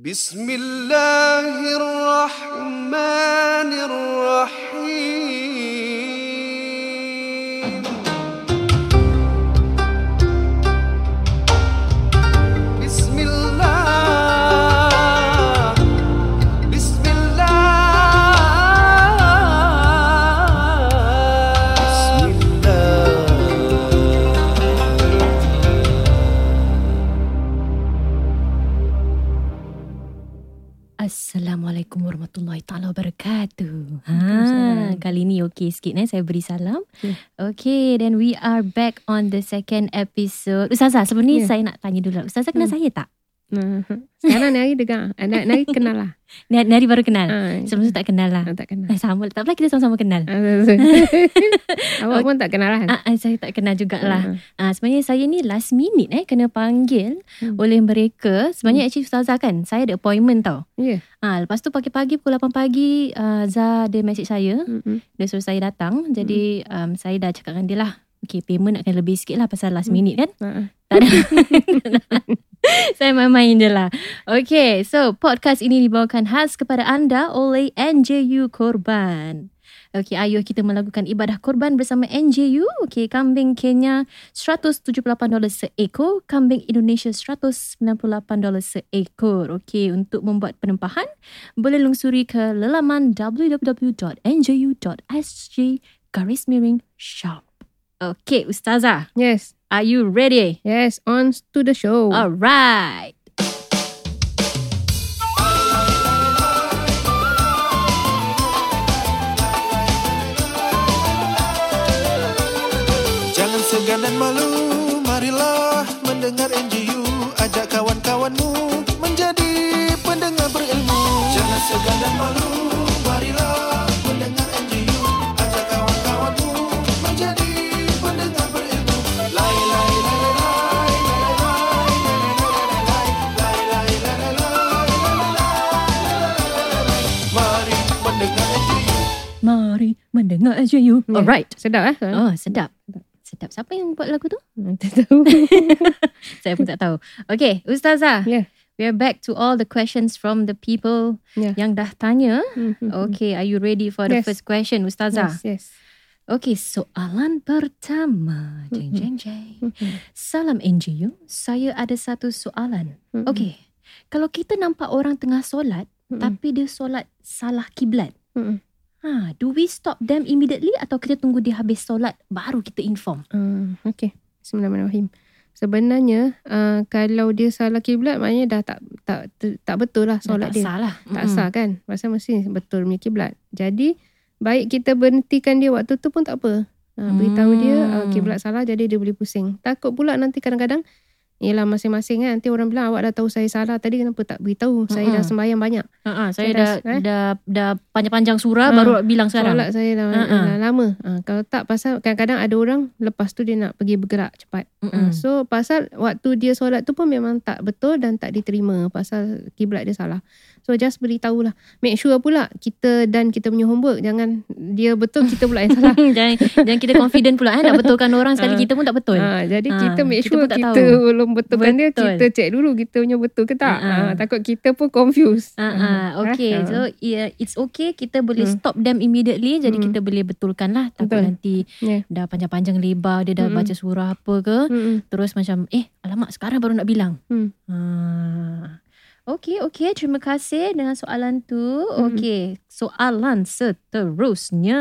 Bismillahirrahmanirrahim. Bismillah. Assalamualaikum warahmatullahi ta'ala wabarakatuh. Kali ni okey sikit saya beri salam. Okay, then we are back on the second episode. Ustazah, sebelum ni saya nak tanya dulu. Ustazah kenal saya tak? Sekarang ni hari dengar. Nari kenal lah. Nari baru kenal. Sebelum tu tak kenal lah. Tak kenal. Sama, tak apa kita sama-sama kenal. Awak pun tak kenal lah. Saya tak kenal jugalah. Sebenarnya saya ni last minute kena panggil oleh mereka. Sebenarnya actually Ustazah kan, saya ada appointment tau. Lepas tu pagi-pagi pukul 8 pagi Zah dia message saya. Dia suruh saya datang. Jadi saya dah cakap dengan dia lah, okay, payment nak kena lebih sikit lah pasal last minute kan. Tak ada. Saya main-main je lah. Okay, so podcast ini dibawakan khas kepada anda oleh NJU Korban. Okay, ayo kita melakukan ibadah korban bersama NJU. Okay, kambing Kenya $178 seekor, kambing Indonesia $198 seekor. Okay, untuk membuat penempahan, boleh lungsuri ke laman www.nju.sg/shop. Okay, Ustazah. Yes. Are you ready? Yes, on to the show. Alright. Jangan segan dan malu, marilah mendengar NJU. Ajak kawan-kawanmu menjadi pendengar berilmu. Jangan segan dan malu, marilah mendengar NJU. Ajak kawan-kawanmu menjadi pendengar berilmu. Lai lai lai lai lai lai lai lai. Mari mendengar NJU. Mari mendengar NJU. Alright. Sedap lah. Oh, sedap. Sedap. Siapa yang buat lagu tu? Tak tahu. Saya pun tak tahu. Okay, Ustazah. Yeah. We are back to all the questions from the people yang dah tanya. Okay, are you ready for the first question, Ustazah? Yes. Okay, soalan pertama. Jeng, jeng, jeng. Salam NJU. Saya ada satu soalan. Okay, kalau kita nampak orang tengah solat, tapi dia solat salah kiblat, do we stop them immediately atau kita tunggu dia habis solat baru kita inform? Okay. Bismillahirrahmanirrahim. Sebenarnya kalau dia salah kiblat, maknanya dah tak betul lah solat dia. Salah. Tak sah kan? Pasal mesti betul punya kiblat. Jadi baik kita berhentikan dia waktu tu pun tak apa. Beritahu dia kiblat salah, jadi dia boleh pusing. Takut pula nanti kadang-kadang, yelah masing-masing kan, nanti orang bilang awak dah tahu saya salah tadi, kenapa tak beritahu? Saya dah sembahyang banyak. Saya dah panjang-panjang surah baru bilang sekarang. Solat saya dah lama. Kalau tak, pasal kadang-kadang ada orang lepas tu dia nak pergi bergerak cepat. So pasal waktu dia solat tu pun memang tak betul dan tak diterima pasal kiblat dia salah. So just beritahulah. Make sure pula kita punya homework, jangan dia betul kita pula yang salah. jangan kita confident pula nak betulkan orang sekali kita pun tak betul. Jadi kita make sure kita kita belum betulkan dia, kita check dulu kita punya betul ke tak. Takut kita pun confused. Okay, so it's okay, kita boleh stop them immediately. Jadi kita boleh betulkan lah. Takut nanti dah panjang-panjang lebar dia dah baca surah apa ke, terus macam alamak sekarang baru nak bilang. Okay, terima kasih dengan soalan tu. Okay, soalan seterusnya.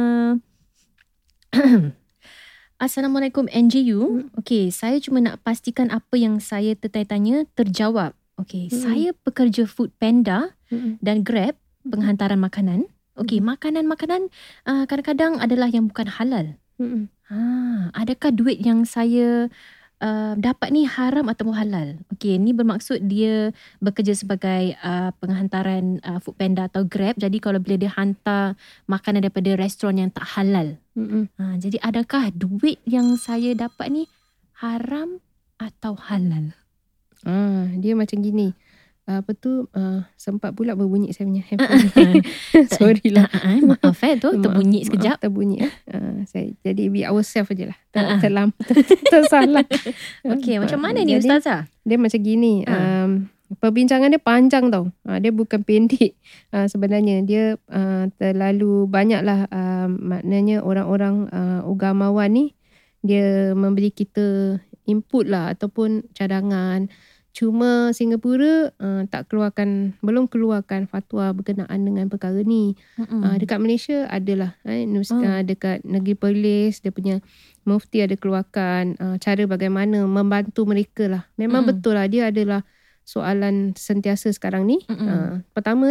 Assalamualaikum NJU. Okay, saya cuma nak pastikan apa yang saya tertanya terjawab. Okay, saya pekerja Food Panda dan Grab penghantaran makanan. Okay, makanan-makanan kadang-kadang adalah yang bukan halal. Adakah duit yang saya dapat ni haram atau halal? Okay, ni bermaksud dia bekerja sebagai penghantaran Food Panda atau Grab. Jadi kalau bila dia hantar makanan daripada restoran yang tak halal, jadi adakah duit yang saya dapat ni haram atau halal? Dia macam gini. Sempat pula berbunyi saya punya handphone. Sorry lah. Maaf tu terbunyi sekejap. Terbunyi jadi be ourselves je lah. Tersalah. Okay, macam mana ni Ustazah? Dia macam gini. perbincangan dia panjang tau. Dia bukan pendek. Sebenarnya dia terlalu banyaklah, maknanya orang-orang ugamawan ni dia memberi kita input lah ataupun cadangan. Cuma Singapura belum keluarkan fatwa berkenaan dengan perkara ni. Dekat Malaysia adalah dekat Negeri Perlis dia punya mufti ada keluarkan cara bagaimana membantu mereka lah. Memang betul lah dia adalah soalan sentiasa sekarang ni. Pertama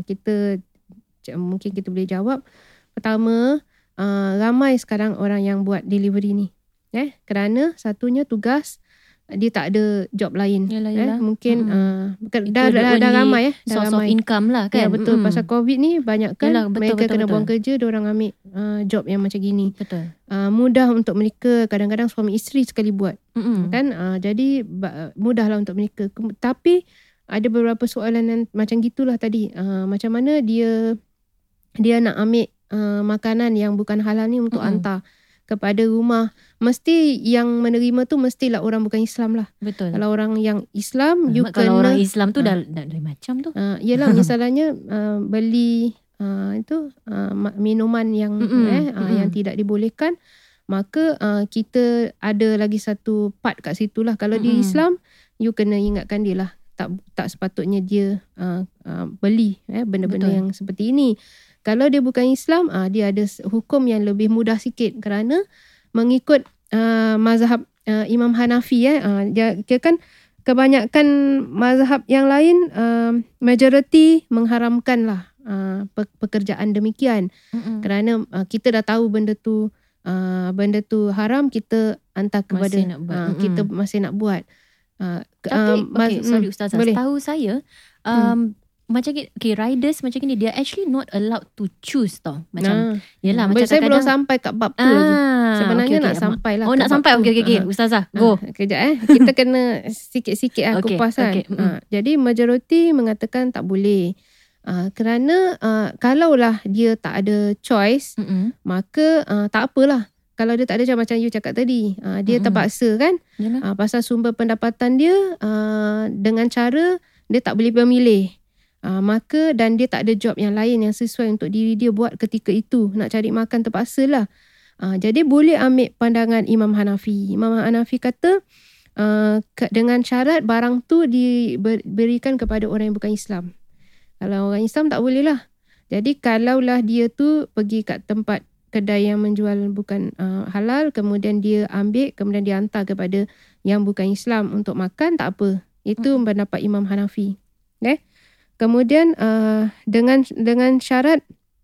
mungkin kita boleh jawab. Pertama, ramai sekarang orang yang buat delivery ni. Kerana satunya tugas dia tak ada job lain. Yalah. Mungkin dah ramai source of income lah kan. Ya betul. Pasal COVID ni banyak kan mereka kena buang betul. kerja, diorang ambil job yang macam gini. Betul. Mudah untuk mereka, kadang-kadang suami isteri sekali buat. Kan jadi mudahlah untuk mereka. Tapi ada beberapa soalan yang macam gitulah tadi. Macam mana dia nak ambil makanan yang bukan halal ni untuk hantar kepada rumah. Mesti yang menerima tu mestilah orang bukan Islam lah. Betul. Kalau orang yang Islam, kalau orang Islam tu dah dari macam tu. Yelah, misalnya beli minuman yang yang tidak dibolehkan, maka kita ada lagi satu part kat situ lah. Kalau di Islam, you kena ingatkan dia lah. Tak sepatutnya dia beli benda-benda yang seperti ini. Kalau dia bukan Islam, dia ada hukum yang lebih mudah sikit kerana mengikut mazhab Imam Hanafi. Dia kan kebanyakan mazhab yang lain majoriti mengharamkan lah pekerjaan demikian. Kerana kita dah tahu benda tu haram, kita hantar kepada kita masih nak buat. Tapi sorry Ustazah, boleh. tahu saya macam riders macam ni dia actually not allowed to choose tau. Macam yelah macam saya belum kadang sampai kat bab tu lagi. Sebenarnya nak sampai lah. Nak sampai. Okey Ustazah, go. Kejap kita kena sikit-sikit kupas kan. Jadi majoriti mengatakan tak boleh. Kerana kalaulah dia tak ada choice, maka tak apalah. Kalau dia tak ada macam you cakap tadi, dia terpaksa kan. Pasal sumber pendapatan dia dengan cara dia tak boleh memilih. Maka dan dia tak ada job yang lain yang sesuai untuk diri dia buat ketika itu. Nak cari makan terpaksa lah. Jadi boleh ambil pandangan Imam Hanafi. Imam Hanafi kata dengan syarat barang tu diberikan kepada orang yang bukan Islam. Kalau orang Islam tak boleh lah. Jadi kalaulah dia tu pergi kat tempat kedai yang menjual bukan halal, kemudian dia ambil, kemudian dia hantar kepada yang bukan Islam untuk makan, tak apa. Itu pendapat Imam Hanafi. Kemudian dengan syarat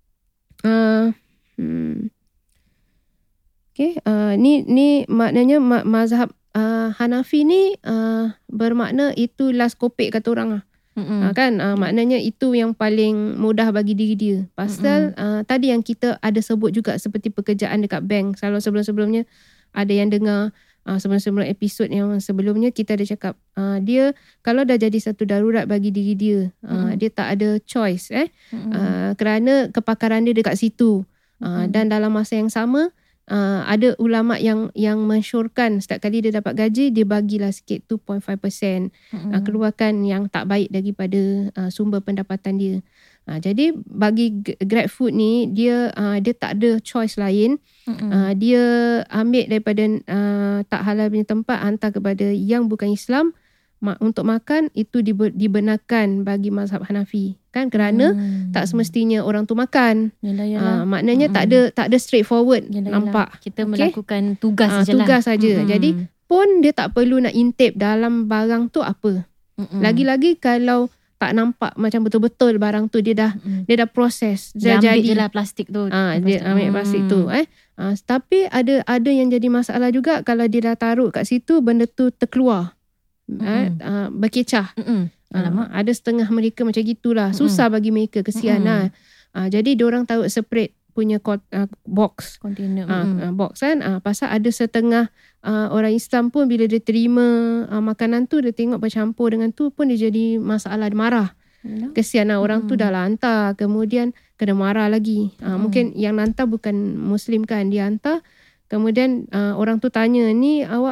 ni maknanya mazhab Hanafi ni bermakna itu last kopek kata orang lah. Kan maknanya itu yang paling mudah bagi diri dia. Pasal tadi yang kita ada sebut juga seperti pekerjaan dekat bank. Kalau sebelum-sebelumnya ada yang dengar sebelum episod yang sebelumnya kita ada cakap dia kalau dah jadi satu darurat bagi diri dia, dia tak ada choice kerana kepakaran dia dekat situ. Dan dalam masa yang sama ada ulama yang mensyorkan setiap kali dia dapat gaji dia bagilah sikit 2.5% keluarkan yang tak baik daripada sumber pendapatan dia. Jadi bagi GrabFood ni dia tak ada choice lain. Dia ambil daripada tak halal punya tempat hantar kepada yang bukan Islam untuk makan. Itu dibenarkan bagi mazhab Hanafi kan, kerana tak semestinya orang tu makan. Yalah. Maknanya tak ada straightforward. Nampak kita melakukan tugas sajalah. Tugas saja. Jadi pun dia tak perlu nak intip dalam barang tu apa. Lagi-lagi kalau tak nampak macam betul-betul barang tu dia dah proses. Dia ambil je lah plastik tu. Dia ambil plastik tu. Tapi ada yang jadi masalah juga kalau dia dah taruh kat situ benda tu terkeluar. Berkecah. Ada setengah mereka macam gitulah. Susah bagi mereka, kesian lah. Jadi diorang taruh separate punya box. Container. Box kan. Pasal ada setengah orang Islam pun bila dia terima makanan tu, dia tengok bercampur dengan tu pun dia jadi masalah, dia marah. Kesian lah orang tu dah lah hantar, kemudian kena marah lagi. Mungkin yang hantar bukan Muslim kan, dia hantar. Kemudian orang tu tanya, ni awak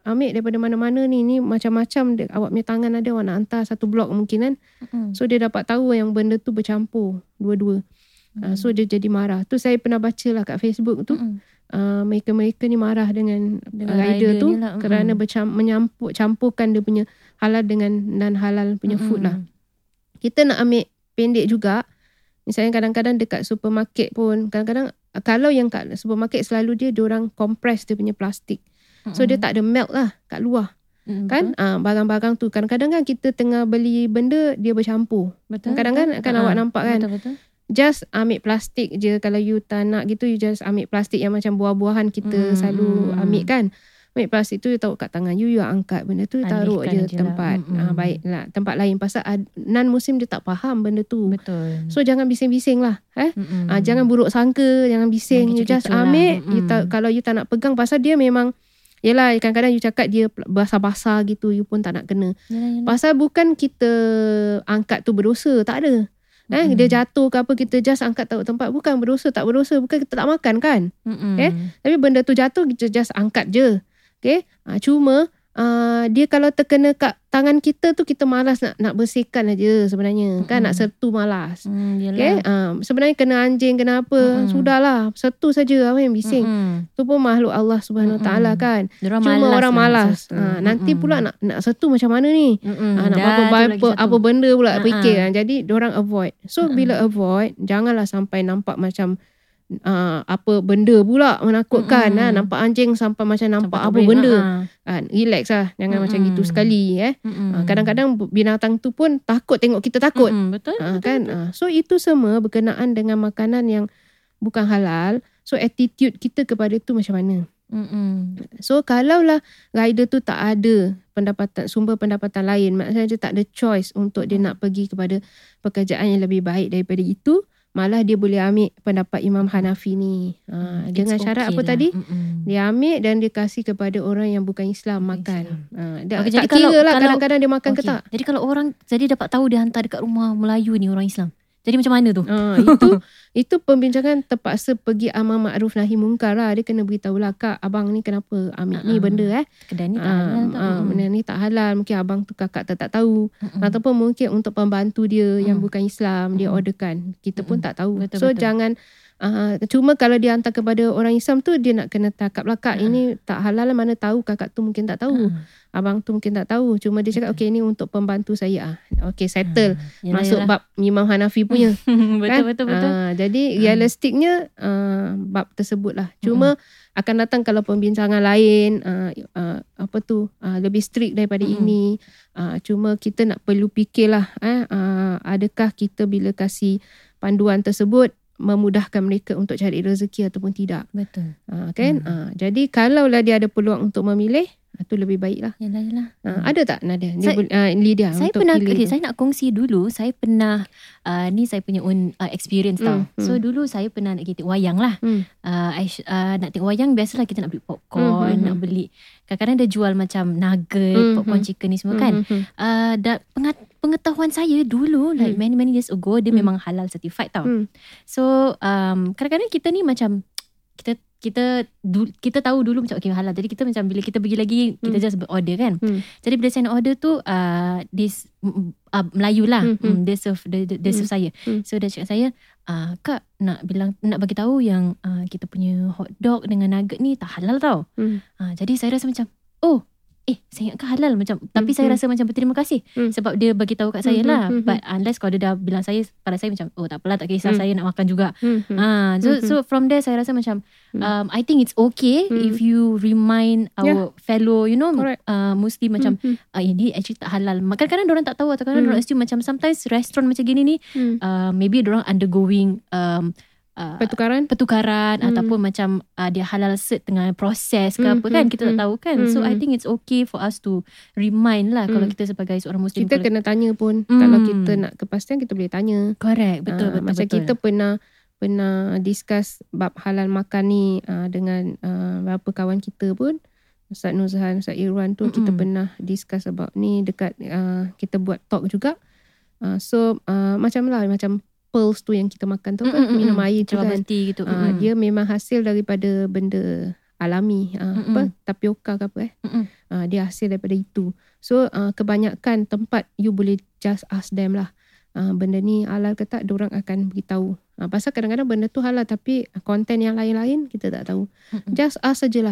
ambil daripada mana-mana ni macam-macam awak punya tangan ada, awak nak hantar satu blok mungkin kan. So dia dapat tahu yang benda tu bercampur dua-dua. So dia jadi marah. Tu saya pernah baca lah kat Facebook tu. Mereka ni marah dengan rider tu kerana campurkan dia punya halal dengan non-halal punya food lah. Kita nak ambil pendek juga. Misalnya kadang-kadang dekat supermarket pun, kadang-kadang kalau yang kat supermarket selalu diorang compress dia punya plastik. So dia tak ada melt lah kat luar. Kan barang-barang tu kadang-kadang kan kita tengah beli benda dia bercampur. Kadang-kadang kan awak nampak kan. Betul. Just ambil plastik je. Kalau you tak nak gitu, you just ambil plastik yang macam buah-buahan kita selalu ambil kan. Ambil plastik tu you taruh kat tangan you angkat benda tu, taruh je tempat baiklah, tempat lain. Pasal non-muslim dia tak faham benda tu. Betul. So jangan bising-bising lah. Jangan buruk sangka, jangan bising. You just ambil lah. Kalau you tak nak pegang, pasal dia memang, yelah kadang-kadang you cakap dia basah-basah gitu, you pun tak nak kena. Yalah. Pasal bukan kita angkat tu berdosa, tak ada. Dia jatuh ke apa, kita just angkat taruh tempat, bukan berdosa, tak berdosa. Bukan kita tak makan kan. Tapi benda tu jatuh, kita just angkat je. Cuma dia kalau terkena kat tangan kita tu, kita malas nak bersihkan aja sebenarnya. Kan nak sertu malas. Sebenarnya kena anjing, kena apa, sudahlah, sertu saja, apa yang bising. Tu pun makhluk Allah Subhanahu Wa Taala kan. Cuma orang malas. Nanti pula nak sertu macam mana ni? Nak apa benda pula fikir. Jadi diorang avoid. So bila avoid, janganlah sampai nampak macam apa benda pula menakutkan. Nampak anjing sampai macam nampak apa benda. Relax lah, jangan macam gitu sekali. Kadang-kadang binatang tu pun takut tengok kita takut. Betul. So itu semua berkenaan dengan makanan yang bukan halal. So attitude kita kepada tu macam mana. So kalaulah rider tu tak ada sumber pendapatan lain, maksudnya dia tak ada choice untuk dia nak pergi kepada pekerjaan yang lebih baik daripada itu, malah dia boleh ambil pendapat Imam Hanafi ni. Dengan syarat apa tadi? Dia ambil dan dia kasih kepada orang yang bukan Islam makan. Tak kira lah kadang-kadang dia makan ke tak. Jadi kalau orang dapat tahu dia hantar dekat rumah Melayu ni orang Islam, jadi macam mana tu? Itu pembincangan terpaksa pergi amar makruf nahi mungkar lah. Dia kena beritahu lah, Kak, abang ni kenapa ambil ni benda kedai ni tak halal. Benda ni tak halal. Mungkin abang tu kakak tak tahu. Ataupun mungkin untuk pembantu dia yang bukan Islam, dia orderkan. Kita pun tak tahu. Betul. Jangan cuma kalau dia hantar kepada orang Islam tu, dia nak kena takap lah, Kak, ini tak halal lah, mana tahu kakak tu mungkin tak tahu. Abang tu mungkin tak tahu. Cuma dia cakap okey, ni untuk pembantu saya. Okey, settle. Masuk bab Imam Hanafi punya. Betul. Jadi realistiknya bab tersebut lah. Cuma akan datang kalau pembincangan lain lebih strict daripada ini. Cuma kita nak perlu fikirlah adakah kita bila kasih panduan tersebut memudahkan mereka untuk cari rezeki ataupun tidak. Betul. Jadi kalaulah dia ada peluang untuk memilih, itu lebih baik lah. Yalah. Ada tak Nadia? Lydia, saya untuk pernah, pilih saya nak kongsi dulu. Saya pernah, ni saya punya own experience tau. So dulu saya pernah nak pergi tengok wayang lah. Nak tengok wayang, biasalah kita nak beli popcorn, nak beli, kadang-kadang dia jual macam nugget, popcorn chicken ni semua kan. Pengetahuan saya dulu, like many years ago, dia memang halal certified tau. So kadang-kadang kita ni macam kita tahu dulu macam okay halal. Jadi kita macam bila kita pergi lagi, kita just order kan. Jadi bila saya nak order tu this Melayu lah, dia serve saya. So dia cakap saya, Kak, nak bagi tahu yang kita punya hot dog dengan nugget ni tak halal tau. Jadi saya rasa macam saya ingatkan halal macam, tapi saya rasa macam berterima kasih sebab dia bagi tahu kat saya lah. But unless kalau dia dah bilang saya, pada saya macam tak apalah, tak kisah, saya nak makan juga. So from there saya rasa macam I think it's okay if you remind our fellow Muslim macam ini actually tak halal. Kadang-kadang diorang tak tahu, atau kadang-kadang diorang assume macam sometimes restaurant macam gini ni maybe diorang undergoing pertukaran ataupun macam dia halal cert dengan proses ke apa kan, kita tak tahu kan. So I think it's okay for us to remind lah kalau kita sebagai seorang Muslim. Kita kena tanya pun. Kalau kita nak kepastian, kita boleh tanya. Correct. Betul. Macam kita pernah discuss bab halal makan ni dengan beberapa kawan kita pun, Ustaz Nuzhan, Ustaz Irwan tu, kita pernah discuss about ni dekat kita buat talk juga. So macam pearls tu yang kita makan tu kan, minum air tu kan, gitu. dia memang hasil daripada benda alami, tapioka ke apa dia hasil daripada itu. So kebanyakan tempat you boleh just ask them lah, benda ni halal ke tak, diorang akan beritahu. Pasal kadang-kadang benda tu halal tapi konten yang lain-lain kita tak tahu. Just ask sajalah.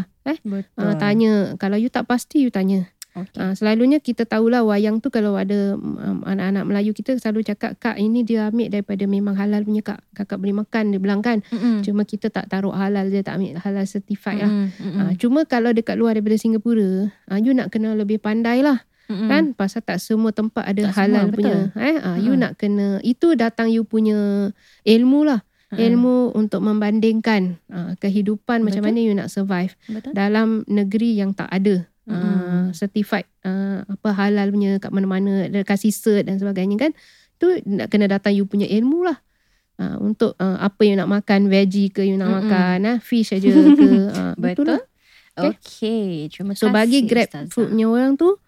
Tanya, kalau you tak pasti you tanya. Okay. Selalunya kita tahulah wayang tu, kalau ada anak-anak Melayu kita selalu cakap, kak ini dia ambil daripada memang halal punya kak, kakak boleh makan, dia bilang kan. Cuma kita tak taruh halal, dia tak ambil halal certified lah. Cuma kalau dekat luar daripada Singapura, you nak kena lebih pandai lah. Kan, pasal tak semua tempat ada tak halal semua, punya. You nak kena, itu datang you punya ilmu lah. Ilmu untuk membandingkan kehidupan, betul? Macam mana you nak survive, betul? Dalam negeri yang tak ada certified halal punya kat mana-mana, ada kasih cert dan sebagainya kan. Tu nak kena datang you punya ilmu lah, untuk apa you nak makan, veggie ke you nak makan, fish aja ke. Betul. Okay, terima kasih. So bagi grab foodnya orang tu,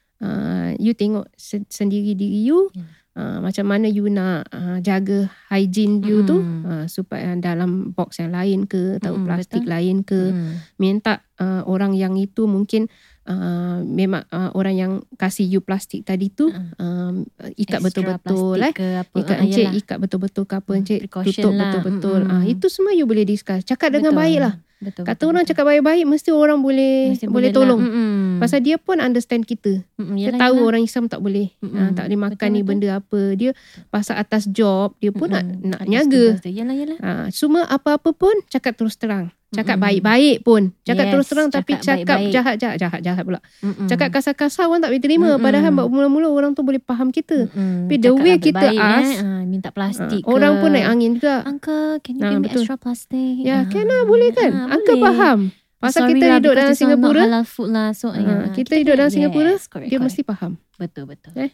you tengok sendiri diri you, macam mana you nak jaga hygiene you tu, supaya dalam box yang lain ke, atau plastik lain ke, minta orang yang itu mungkin memang orang yang kasih you plastik tadi tu ikat betul-betul ikat betul-betul ke apa, tutup lah. Betul-betul. Itu semua you boleh discuss, cakap dengan baik lah. Kata orang cakap baik-baik, mesti orang boleh tolong. Pasal dia pun understand kita. Dia tahu orang Islam tak boleh tak boleh makan ni benda apa. Dia pasal atas job dia pun nak jaga. Cuma apa-apa pun cakap terus terang. Cakap baik-baik pun. Cakap terus terang, tapi cakap jahat pula. Cakap kasar-kasar orang tak boleh terima. Padahal mula-mula orang tu boleh faham kita. Tapi the way kita ask, minta plastik orang pun naik angin juga. Uncle, can you give me extra plastic? Ya, can lah, boleh kan? Uncle faham. Pasal kita hidup dalam Singapura, halal food lah. So kita hidup dalam Singapura, dia mesti faham. Betul.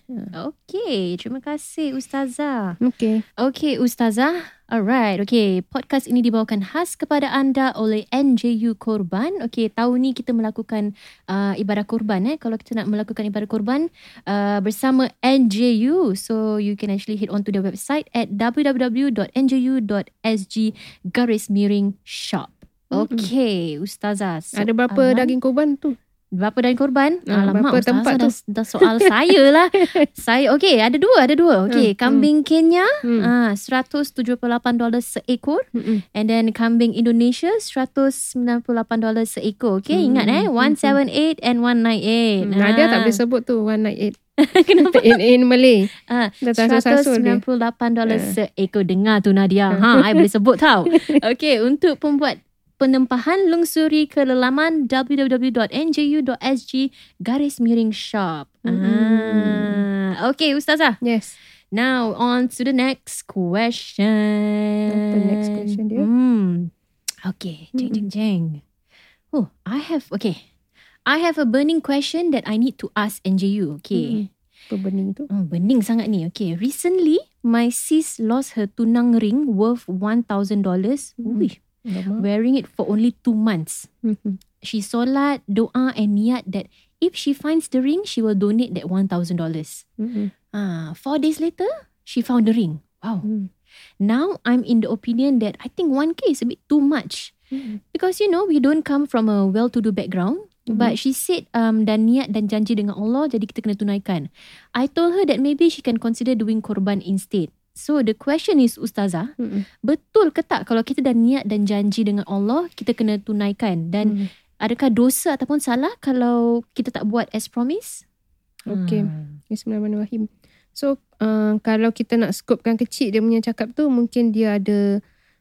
Okay, terima kasih Ustazah. Okay Ustazah. Alright, okay. Podcast ini dibawakan khas kepada anda oleh NJU Korban. Okay, tahun ni kita melakukan ibadah korban. Kalau kita nak melakukan ibadah korban bersama NJU, so you can actually head on to the website at www.nju.sg/shop. Okay, Ustazah. Ada berapa daging korban tu? Berapa daging korban? Alamak, berapa tempat tu? Dah soal saya lah. Okay, ada dua. Okay, kambing Kenya $178 seekor. And then kambing Indonesia $198 seekor. Okay, ingat 178 and 198. Nadia tak boleh sebut tu 198. Kenapa? In Malay. $198 seekor. Dengar tu Nadia. I boleh sebut tau. Okay, untuk pembuat penempahan, lungsuri ke laman www.nju.sg/shop. Okay, Ustazah. Yes. Now, on to the next question. Apa next question dia? Okay, jeng. I have a burning question that I need to ask NJU. Okay. Apa burning tu? Burning sangat ni. Okay, recently, my sis lost her tunang ring worth $1,000. Wearing it for only 2 months. She solat, doa and niat that if she finds the ring, she will donate that $1,000. 4 days later, she found the ring. Wow. Now I'm in the opinion that I think 1K is a bit too much. Because we don't come from a well-to-do background. But she said dan niat dan janji dengan Allah, jadi kita kena tunaikan. I told her that maybe she can consider doing korban instead. So the question is, Ustazah, betul ke tak kalau kita dah niat dan janji dengan Allah, kita kena tunaikan? Dan adakah dosa ataupun salah kalau kita tak buat as promise? Okay. Bismillahirrahmanirrahim. So kalau kita nak scopekan kecil dia punya cakap tu, mungkin dia ada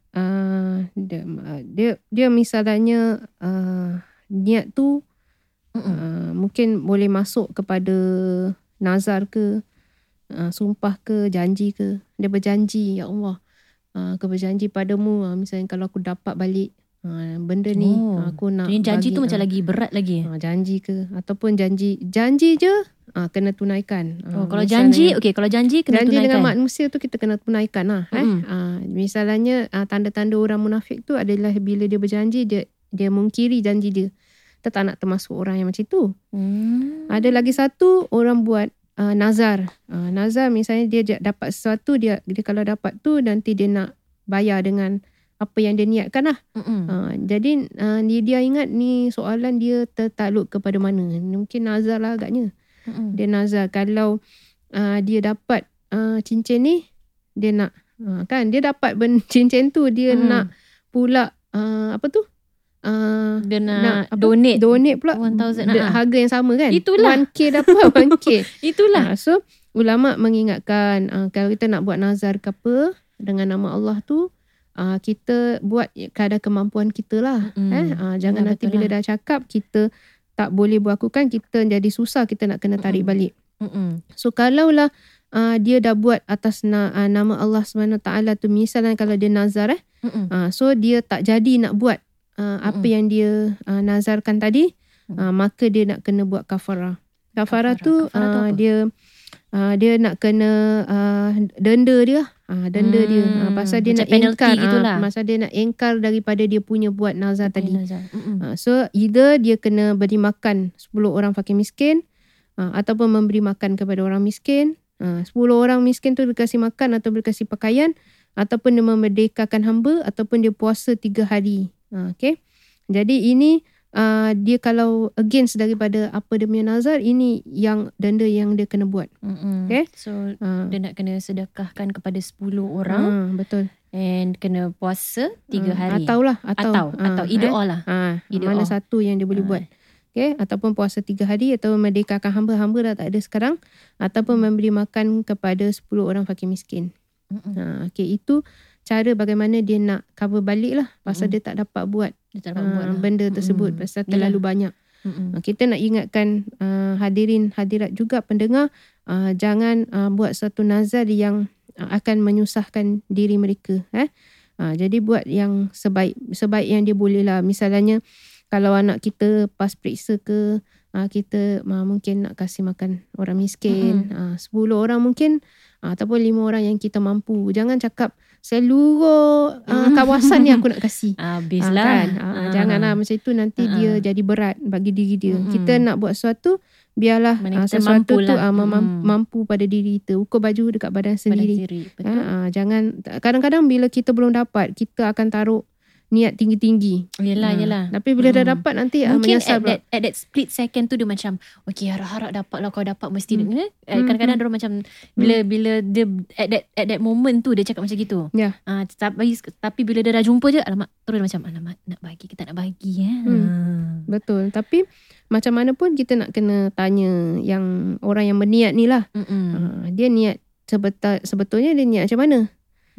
dia misalnya niat tu mungkin boleh masuk kepada nazar ke, sumpah ke, janji ke. Dia berjanji, ya Allah, aku berjanji padamu, misalnya kalau aku dapat balik benda ni, aku nak jadi janji bagi, tu macam lagi berat lagi. Janji ke, ataupun janji je kena tunaikan. Kalau janji, kalau janji kena janji tunaikan. dengan manusia tu kita kena tunaikan lah. Misalnya tanda-tanda orang munafik tu adalah bila dia berjanji, dia mungkiri janji dia. Kita tak nak termasuk orang yang macam tu. Ada lagi satu, orang buat nazar. Nazar misalnya dia dapat sesuatu, dia kalau dapat tu nanti dia nak bayar dengan apa yang dia niatkan lah. Jadi dia ingat ni soalan dia tertakluk kepada mana. Mungkin nazar lah agaknya. Dia nazar kalau dia dapat cincin ni, dia nak kan, dia dapat cincin tu, dia nak pula dia nak donate pula 1,000 harga yang sama kan. Itulah 1K dapat 1K. Itulah. So ulama mengingatkan kalau kita nak buat nazar ke apa dengan nama Allah tu, kita buat kadar kemampuan kita lah. Jangan nanti bila dah cakap kita tak boleh berlakukan, kita jadi susah, kita nak kena tarik balik. So kalaulah dia dah buat atas nama Allah SWT tu, misalnya kalau dia nazar so dia tak jadi nak buat apa yang dia nazarkan tadi, maka dia nak kena buat kafarah. Kafarah tu dia nak kena denda dia. Denda dia pasal dia nak engkar pasal dia nak engkar daripada dia punya buat nazar tadi. So either dia kena beri makan 10 orang fakir miskin, ataupun memberi makan kepada orang miskin. 10 orang miskin tu dikasih makan atau dikasih pakaian, ataupun dia memerdekakan hamba, ataupun dia puasa 3 hari. Okay. Jadi ini dia kalau against daripada apa dia punya nazar, ini yang denda yang dia kena buat. Okay. So dia nak kena sedekahkan kepada 10 orang. Betul. And kena puasa 3 hari. Atau either all lah. Mana satu yang dia boleh buat. Okay. Ataupun puasa 3 hari, atau merdekakan hamba dah tak ada sekarang, ataupun memberi makan kepada 10 orang fakir miskin. Okay. Itu cara bagaimana dia nak cover balik lah, pasal dia tak dapat buat benda tersebut, pasal terlalu banyak. Kita nak ingatkan hadirin hadirat juga pendengar, jangan buat satu nazar yang akan menyusahkan diri mereka. Jadi buat yang sebaik yang dia boleh lah. Misalnya kalau anak kita pas periksa ke, kita mungkin nak kasih makan orang miskin, 10 orang mungkin, ataupun 5 orang yang kita mampu. Jangan cakap seluruh kawasan ni aku nak kasih. Habislah. Janganlah macam itu, nanti dia jadi berat bagi diri dia. Kita nak buat sesuatu, biarlah sesuatu tu mampu pada diri kita. Ukur baju dekat badan sendiri. Jangan, kadang-kadang bila kita belum dapat, kita akan taruh niat tinggi-tinggi. Yelah. Tapi bila dah dapat nanti mungkin menyesal pula. at that split second tu dia macam okay, harap-harap dapat lah, kau dapat mesti. Kadang-kadang dia macam bila dia at that moment tu dia cakap macam gitu. Tapi bila dia dah jumpa je, terus macam kita nak bagi. Betul. Tapi macam mana pun kita nak kena tanya yang orang yang berniat ni lah. Dia niat sebetulnya dia niat macam mana?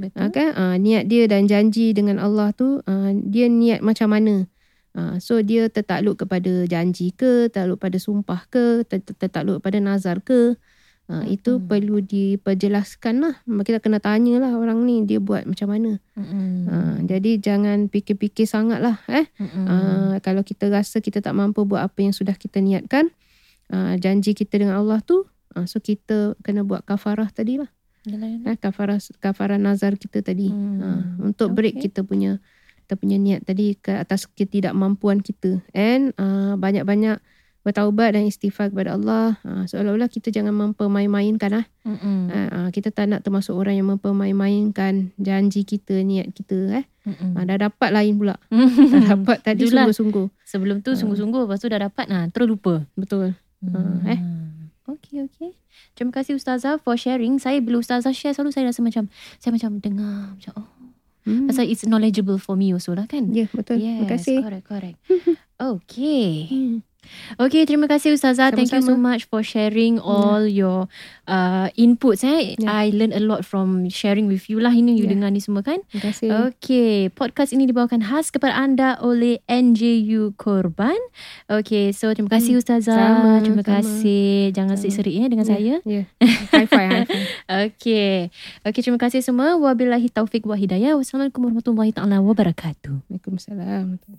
Niat dia dan janji dengan Allah tu, dia niat macam mana? So dia tertakluk kepada janji ke, tertakluk pada sumpah ke, tertakluk pada nazar ke? Itu perlu diperjelaskan lah. Kita kena tanya lah orang ni dia buat macam mana. Jadi jangan fikir-fikir sangat lah. Kalau kita rasa kita tak mampu buat apa yang sudah kita niatkan, janji kita dengan Allah tu, so kita kena buat kafarah tadi lah. Kafarah nazar kita tadi, untuk break kita punya niat tadi ke atas ketidakmampuan kita. And banyak-banyak bertaubat dan istighfar kepada Allah. Seolah-olah kita jangan mempermain-mainkan kita tak nak termasuk orang yang mempermain-mainkan janji kita, niat kita. Dah dapat lain pula. Dah dapat tadi sungguh-sungguh. Sebelum tu sungguh-sungguh, lepas tu dah dapat terus lupa. Betul. Okay. Terima kasih Ustazah for sharing. Saya bila Ustazah share selalu saya rasa macam dengar macam pasal it's knowledgeable for me also lah kan. Ya, betul. Yes, terima kasih. Correct. Okay, terima kasih Ustazah. Thank you so much for sharing all your inputs. I learned a lot from sharing with you lah. Ini you dengar ni semua kan. Terima kasih. Okay, podcast ini dibawakan khas kepada anda oleh NJU Korban. Okay, so terima kasih Ustazah. Terima kasih. Jangan serik-serik dengan saya. High five. Okay, terima kasih semua. Wabillahi taufiq wa hidayah. Wassalamualaikum warahmatullahi taala wabarakatuh. Waalaikumsalam.